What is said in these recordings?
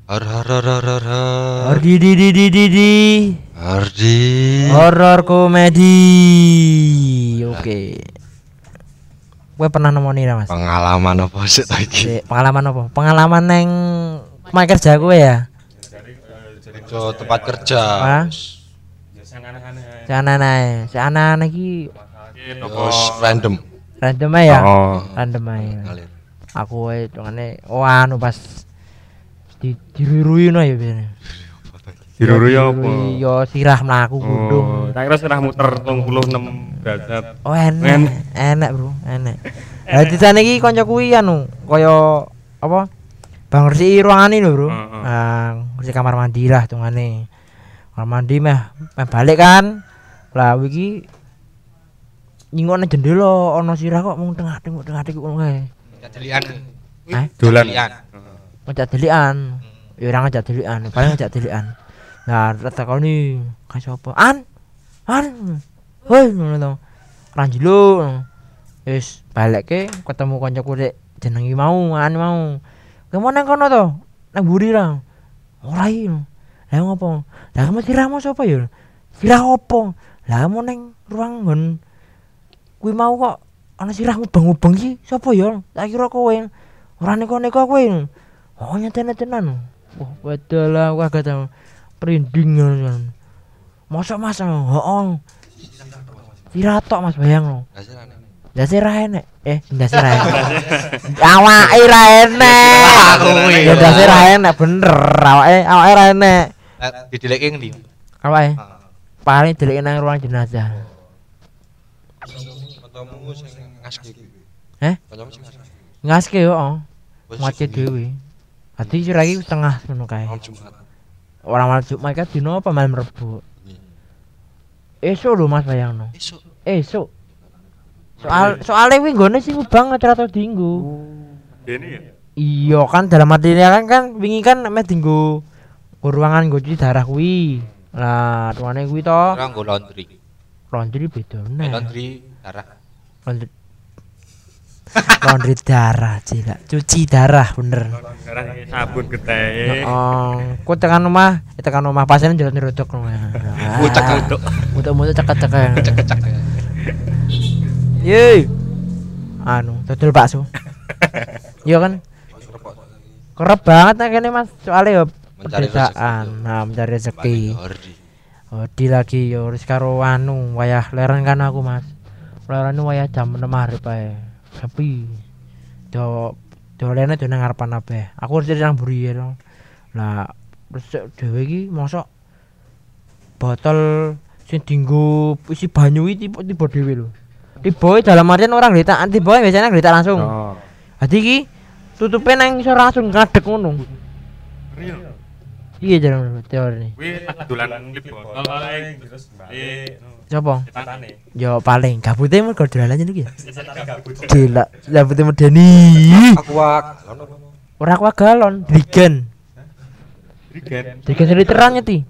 Har har har har har har. Ardi di. Ardi. Horor komedi. Oke. Gue pernah nemoni ra, Mas? Pengalaman apa sih tadi? Pengalaman apa? Pengalaman neng tempat kerja gue ya. So, tempat kerja. Hah? Sana iki Terus random. random aja ya. Oh. Random aja. Ngalir. Aku hitungane anu pas dirurui no ya biasanya. Dirurui apa? Yo sirah mlaku gundung. Tak kira sirah muter 36 derajat. Oh enak bro, enak. Lah di sana iki kanca kuwi anu kaya apa? Bang resi ruangan lho, Bro. Nah, resi kamar mandi lah tungane. Kamar mandi meh balik kan. Lah iki nyingokne jendela ana sirah kok mung tengah-tengah ngono kae. Ngajak delian. Dolan. Ngajak delian. Ya ora ngajak delian, paling ngajak delian. Nah, takoni kae sapa? An. Hoi ngono to. Ranjlo. Wis balekke ketemu kancaku rek jenengi mau, mau. Kamu nang kono to? Nang mburi ra. Ora iki. Lah ngopo? Lah kamu sirahmu sapa ya? Sirah opo? Lah kamu nang ruang nggon kuwi mau kok ana sirah mubeng-mubeng iki sapa ya? Tak kira kowe. Ora neko-neko kowe. Oh nyatane tenan. Wah, wedal lah wah kata perinding kan. Mosok Mas? Heeh. Sirah tok Mas bayang lo. Ndase ra enek. Ndase ra enek. Awake ra enek. Ya ndase ra enek bener. Awake ra enek. Dideleke ngendi? Awake. Paling dileke nang ruang jenazah. Kancamu sing ngaske kuwi. Kancamu sing ngaske. Ngaske yo, Mace dhewe. Dadi sira iki setengah ngono kae. Jumat. Ora malam Jumat kan dino apa malam Rebo. Esuk lho Mas bayangno. Esuk. Soalnya kuwi nggone sing banget ra tau dienggo. Dene ya? Iya kan dalam artinya kan wingi kan meh dienggo ruangan nggo cuci darah kuwi. Lah tuane kuwi to. Ora nggo laundry. Laundry beda meneh. Laundry darah. Laundry darah cila. Cuci darah bener. Darah sabun geteh. Ku tekan omah pasien jalan nyeruduk ngono. Ucek-ucek. Mutu-mutu cekak-cekak. Cek-cek. Ye. Anu, dodol bakso. Iya kan? Kerep banget nek kene Mas, soalnya ya pedesaan. Nah, mencari rezeki. Di lagi yo wis karo anu wayah leren kan aku Mas. Leren wayah jam 6 arep ae. Tapi dolene nang ngarepan kabeh. Aku wis nang mburi ya. Lah resik dhewe iki mosok botol sing dienggo isi banyu iki tiba dhewe lho. Tiba dalam artian orang ngelitak, tiba biasanya ngelitak langsung. Dadi iki tutupe nang iso langsung ngadeg ngono. Iya jalan teori. Kuwi dolan klip botol paling terus balik. Coba. Cetane. Yo paling gabute mergo dolanan iki ya. Gila, gabute medeni. Akuak. Ora aku galon, drigen. Drigen literan nyeti.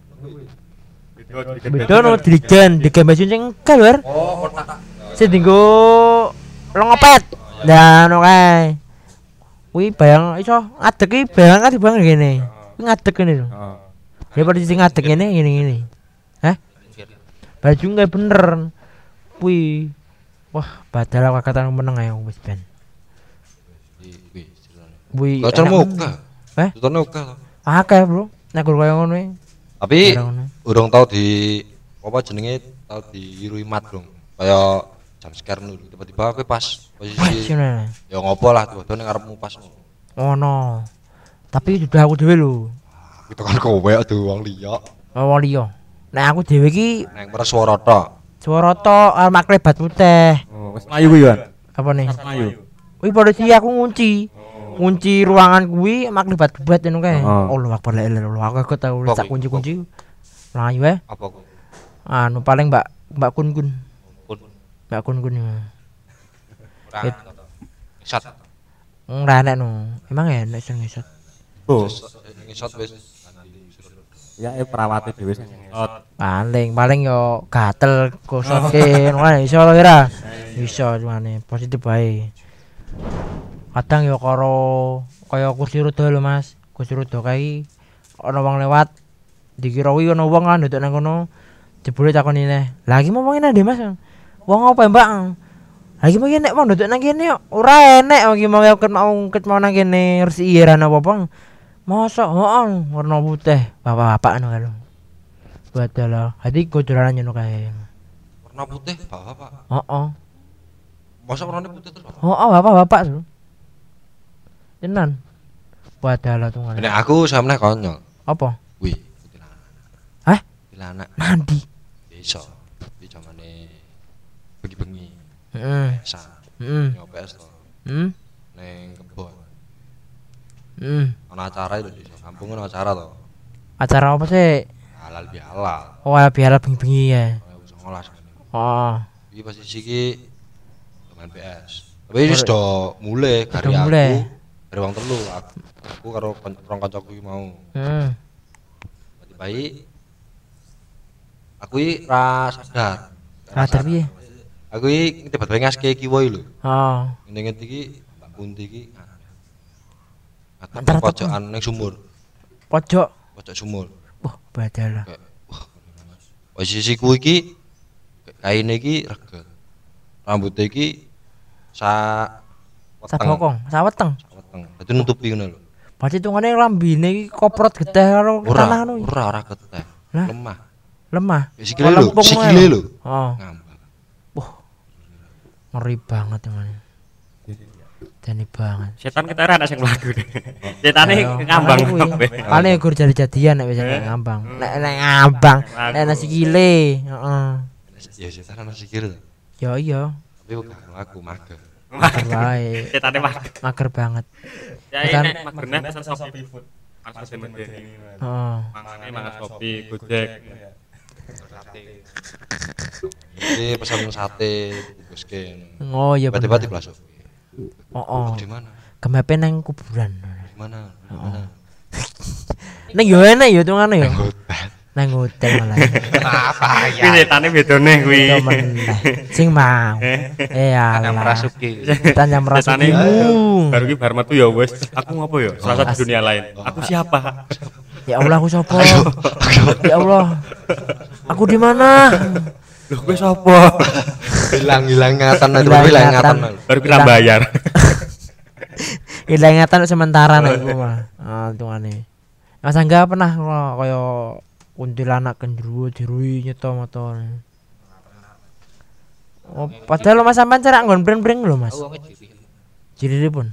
Beda no drigen basun sing engkel wer. Oh, kotak. Sing dienggo longopet. Lah ngono kae. Kuwi bayang iso ngadeg iki bayang kan dibang ngene. Kuwi ngadeg ngene lho. Ya pada sing ngadeg ngene ngene. Baju enggak bener. Kuwi wah, badal aku kata meneng ae wis ben. Kuwi Bocor muka. Tutur muka. Akeh, Bro. Nek kaya ngono iki. Tapi urung tau di apa jenenge tau diirui mat, Bro. Kaya jam scare dulu tiba-tiba kowe pas posisi ya ngopo lah tiba-tiba ning ngarepmu pas ngono. Tapi sudah aku dhewe lho. Itu kan kowe aduh wong liya. Wong liya. Nek aku dhewe iki nang Mereswara tok. Swara tok arep maklebat putih. Oh, wis mlayu kuwi ya. Apa nih? Mlayu. Kuwi polisi aku ngunci. Kunci ruangan kuwi maklebat-bat ngono kae. Allah Akbar la ilaha illallah. Aku tau sak kunci-kunci. Mlayu wae. Apa kok? Anu paling Mbak Kun. Mbak Kun. Ora ngesot. Ora enak no. Emang enak sing ngesot. Oh, Ngesot wis. ya perawate dhewe sing ngesot. Paling yo gatel kosotke ngono iso lho ora. Iso cumane positif bae. Kadang yo karo kaya kursi roda lho Mas. Kursi roda kae ana wong lewat dikira kuwi ana wong kan nduk nang kono jebule takoni neh lha iki momongin ndi Mas wong apa Mbak lagi mau nek wong nduk nang kene ora enek iki mau ket mau nang kene resiki ora apa-apa mosok heeh warna putih bapak-bapak ngono kan padahal hati kocoran ngono kae warna putih bapak heeh mosok warnane putih terus heeh bapak-bapak lho tenan padahal tuh nek aku sampe konyol apa kuwi hah kuntilanak mandi iso iki jamane bengi-bengi sa nyopes to ning kebon ana acara itu di kampung ana acara to acara apa sih halal bihalal oh halal bihalal bengi-bengi ya 2019 oh iki posisi iki main PS tapi wis do mulai kari aku dari wong telu aku karo kanca-kancaku iki mau baik aku iki ra sadar piye aku iki tiba-tiba ngaske kiwo lho ngene iki Mbak Kunti iki antara pojokan ning sumur pojok sumur wah badal posisiku iki kaine iki reget rambutnya iki saweteng dadi nutupi ngono lho berarti tungane lambine iki koprot geteh karo tanah ngono ora geteh lemah sikile lho ngambang wah ngeri banget teman Dani banget. Setan kita ora ana sing mlaku. Setane ngambang kabeh. Paling gur jadi-jadian nek wis ngambang. Nek ngambang, nek ana sikile, heeh. Ya setan ana sikil. Ya iya. Tapi aku mager. Mager wae. Setane mager banget. Ya nek magernya pesan Shopee food. Pas medeni. Heeh. Mangane mangan Shopee, Gojek. Ini pesan sate bungkuskin. Oh iya bener. Tiba-tiba diblasuk. Oh. Di mana? Kemepe nang kuburan. Di mana? Ning yo enak yo tungane yo. Nang hotel malah. Apa ya? Kuwi setane bedone kuwi. Sing mau. Yang merasuki. Setan yang merasuki. Baru ki bar metu ya wis. Aku ngopo ya? Selasa di dunia lain. Aku siapa? Ya Allah aku sapa? Ya Allah. Aku di mana? Loh kowe sapa? Hilang ingatan baru kita bayar. Hilang ingatan sementara nek iku mah. Ah tungane. Mas Angga pernah kaya kuntilanak gendruwo dirui nyeto motor. Oh, padahal Mas sampean cerak nggon breng-breng lho, Mas. Ciri pun.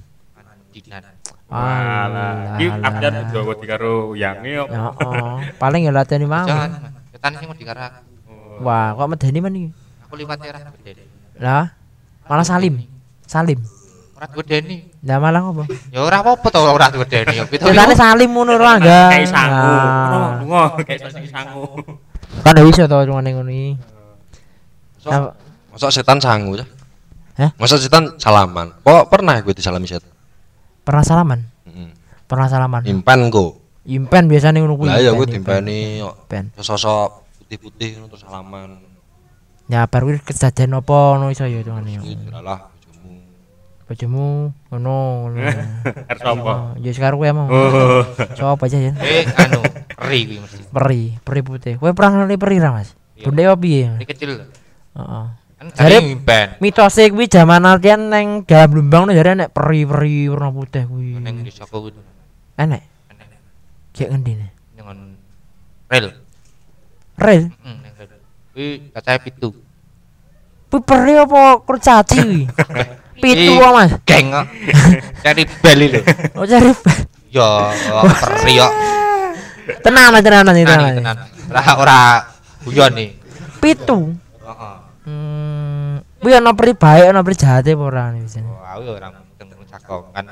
Alah, iki update Jawa karo yange kok. Heeh. Paling ya lateni mau. Ketan sing dikarak. Wah, kok medeni men iki? Aku liwat ora medeni. Lah, malah Salim. Ora medeni. Lah malah ngopo? Ya ora apa-apa to ora medeni. Ceritane Salim ngono ora enggak. Kayak sangu. Ngono, kayak sangu. Kan iso to ngene ngono iki. Masa setan sangu ya? Hah? Masa setan salaman? Kok pernah gue disalami setan? Pernah salaman? Pernah salaman. Impen kok. Impen biasane ngono kuwi. Lah ya gue dimpeni sosok putih-putih ngono terus salaman. Ya bar kuwi kejadian apa ngono iso ya tungane yo. Lah bojomu ngono. Arep sapa? Ya sekarang kowe mau. Coba aja ya. Anu, peri kuwi mesti. Peri putih. Kowe pernah ngali peri ra, Mas? Bunde opo piye? Peri kecil. Heeh. Kan jare impen. Mitose kuwi jaman artian nang dalam Lumbang jare nek peri-peri warna putih kuwi. Nang desa kuwi. Enek. Kayak ngendi ne? Nang rel. Rel? Nang rel. Kuwi kacahe 7. Kuwi peri apa kurcaci kuwi? 7 Mas. Geng kok. Cari bel lho. Oh cari bel. Ya, peri kok. Tenan. Ora guyon nih. 7. Heeh. Kuwi ana peri bae ana peri jahate apa ora bisane. Oh, aku ora mungkin cakong kan.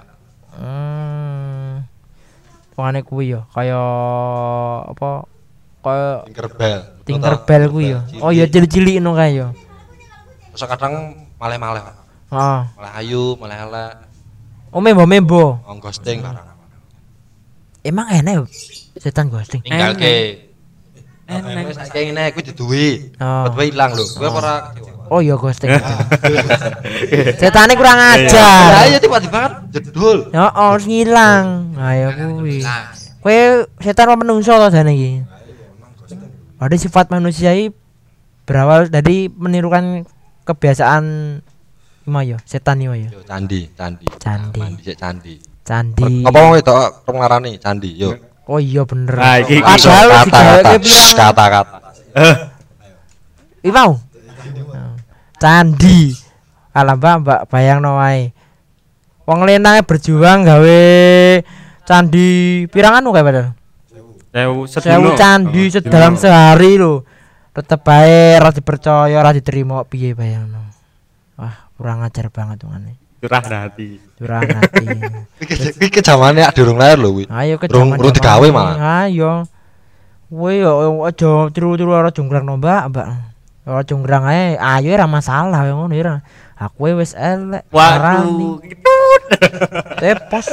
Pokoknya kuwi ya kaya apa kaya Tinkerbell kuwi ya. Oh ya cilik-cilik ngono kae ya. Terus kadang maleh-maleh. Heeh. Maleh ayu, maleh elek. Oh membo. Ghosting barang. Emang enak setan ghosting. Ninggalke. Wis saiki ngene kuwi diduwi. Tiba-tiba ilang lho. Kowe ora Oh iya ghosting. Setane kurang ajar. Lah iya tiba-tiba kan jedul. Heeh, ngilang. Ayo kuwi. Kowe setan apa menungso to jane iki? Ada sifat manusia iki berawal dari menirukan kebiasaan Imayo, setan Imayo. Yo candi. Candi. Mandi sik candi. Candi. Apa mau itu ngarani candi yo. Oh iya bener. Nah, iki Padahal digaweke pirang kata-kata. iki mau. Candi. Alah Mbak bayangno wae. Wong lenange berjuang gawe candi pirang anu kae padahal. 1000 candi dalam sehari lho. Tetep bae ora dipercaya, ora diterima piye bayangno. Wah, kurang ajar banget wongane. curah hati. Curang hati. Iki kejamane ak durung lahir lho kuwi. Ayo ke Urung digawe malah. Ayo. Kowe yo aja tiru-tiru ora jonggrang no, Mbak. Ora jonggrang ae, ayo ora masalah ngono ya. Aku wis elek. Waduh, Tepos.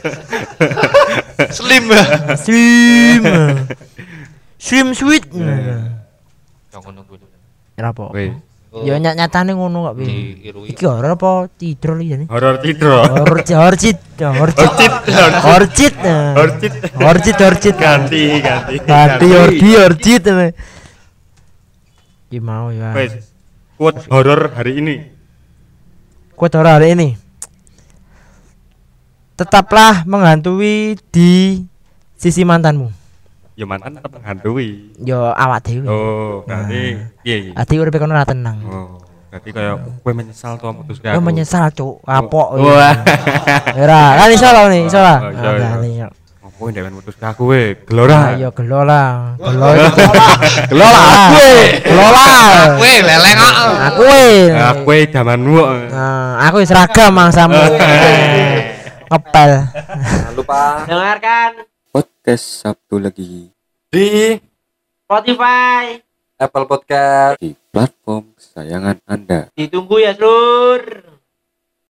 Slim. Slim sweet. Yang ngono kuwi. Ora apa. weh, Ya nyatane ngono kok piye. diirui. Iki horor apa tidur iki jane? horor tidro. Horcit. Ganti. Horcit. Ki mau ya. Wes, quote horor hari ini. Quote horor hari ini. Tetaplah menghantui di sisi mantanmu. Ya mantan tetap menghantui. Yo awak dhewe. Oh, berarti piye iki? Ati uripe kono ora tenang. Oh, berarti kayak kowe menyesal tuh memutuskan Yo aku. menyesal cuk, kapok. Wah. Ora, kan iso lho nih, iso lah. Oh, iya, iya. Nah, Ngopo ndek memutuskan aku we, gelora. ayo gelola. Gelola. Weh, leleng kok. Aku Aku we jamanmu. aku seragam mangsamu. Ngepel. Jangan lupa Dengarkan Podcast Sabtu lagi di Spotify. Apple Podcast. di platform kesayangan Anda. Ditunggu ya, Lur.